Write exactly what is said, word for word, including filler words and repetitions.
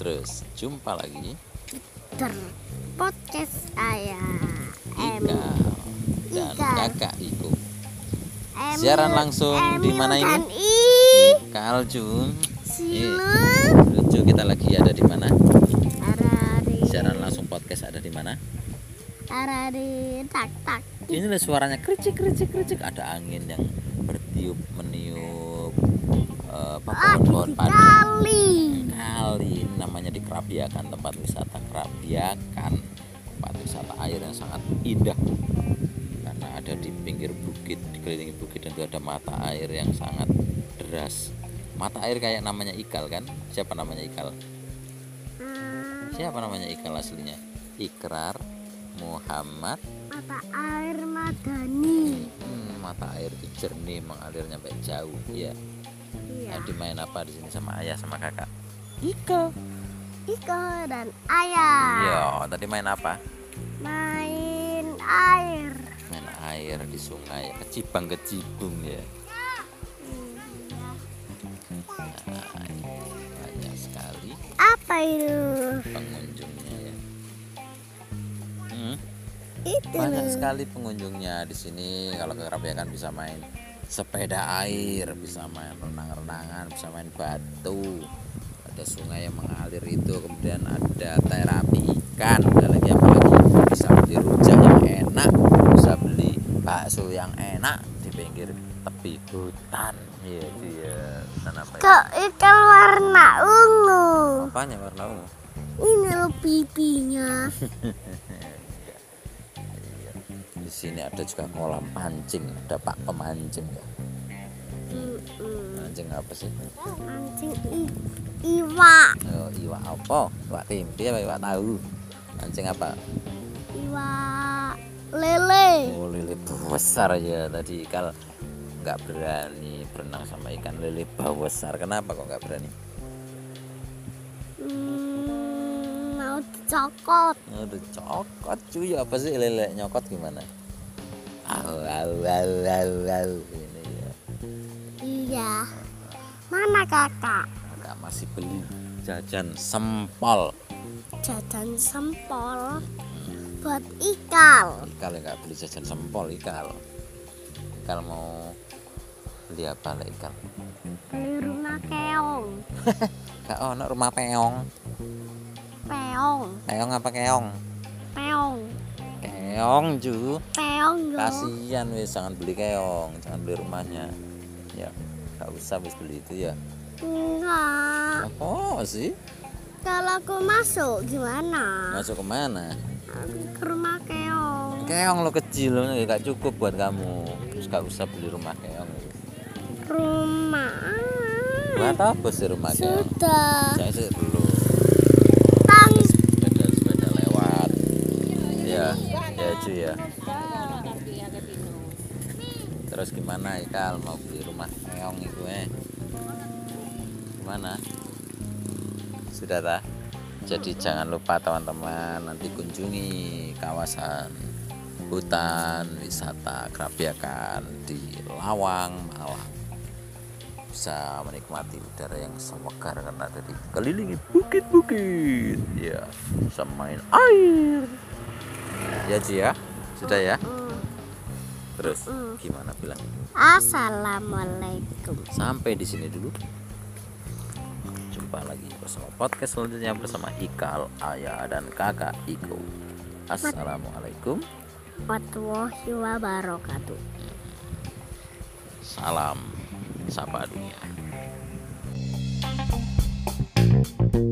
Terus jumpa lagi Ter podcast ayah Ika dan Ika. kakak Iko. Emil, Siaran langsung di Emil mana ini? dan I Kal Jun. Silu Lucu, kita lagi ada di mana? Ada di Siaran langsung podcast ada di mana? Ada di tak tak Ini loh suaranya kericik kericik kericik. Ada angin yang bertiup meniup uh, pohon-pohon padi. kali. Kali ini namanya di Krabiakan, tempat wisata Krabiakan, tempat wisata air yang sangat indah karena ada di pinggir bukit, dikelilingi bukit, dan itu ada mata air yang sangat deras. Mata air kayak namanya Ikal kan? Siapa namanya Ikal? Hmm, Siapa namanya Ikal aslinya? Ikrar Muhammad mata air Madani. hmm, mata air itu jernih, mengalir sampai jauh ya. Iya. Nah, dimain apa di sini sama ayah sama kakak? Ika. Iko dan ayah Iya, tadi main apa? main air. Main air di sungai, kecibang kecibung ya. Nah, ini banyak sekali Apa itu? pengunjungnya ya. Hmm, Itu. banyak sekali pengunjungnya di sini. Kalau ke Krabiakan bisa main sepeda air, bisa main renang-renangan, bisa main batu. Ada sungai yang mengalir itu, kemudian ada terapi ikan, ada lagi apa lagi? Bisa beli rujak yang enak, bisa beli bakso yang enak di pinggir tepi hutan. Iya dia, hutan apa ya? Kok ikan warna ungu? Apanya warna ungu? Ini loh pipinya. Di sini ada juga kolam pancing, ada pak pemancing ya. Mm-mm. Mancing apa sih? Mancing i- iwa, Oh, iwak apa? Iwak tempe apa iwak tahu? Mancing apa? iwa lele. Oh, lele besar ya. Tadi Ikal nggak berani berenang sama ikan lele besar. Kenapa kok nggak berani? Hmm, mau dicokot. Aduh, cokot cuy. Apa sih lele nyokot gimana? Au, au, au, au, au. Ini ya. Iya. Mana kakak? Kakak masih beli jajan sempol. Jajan sempol buat ikal. Ikal nggak beli jajan sempol. Ikal Ikal mau beli apa lah Ikal? Beli rumah keong. Kak ono rumah peong. Peong. Peong apa keong? Peong. Keong ju. Peong loh. Kasihan wis, jangan beli keong, jangan beli rumahnya. Ya, nggak usah wis beli itu ya. Enggak. Apa sih? Kalau aku masuk gimana? Masuk kemana? Ke rumah keong. Keong lo kecil, lo nggak cukup buat kamu. Terus nggak usah beli rumah keong. Rumah. Buat apa sih rumah keong? Sudah. Saya sih dulu Tang. sepeda sepeda lewat. Ya, ya cuy ya. Terus gimana Ikal mau beli rumah keong itu eh? Gimana? Sudah tak? Jadi jangan lupa teman-teman nanti kunjungi kawasan hutan wisata Krabiakan di Lawang, Malang. Bisa menikmati udara yang segar karena ada dikelilingi bukit-bukit. Ya, bisa main air. Ya Ci ya, sudah ya. Terus gimana bilang? Assalamualaikum. Sampai di sini dulu. Jumpa lagi bersama podcast selanjutnya bersama Ikal, ayah dan kakak Iko. Assalamualaikum Warahmatullahi wabarakatuh. Salam Sapa Dunia.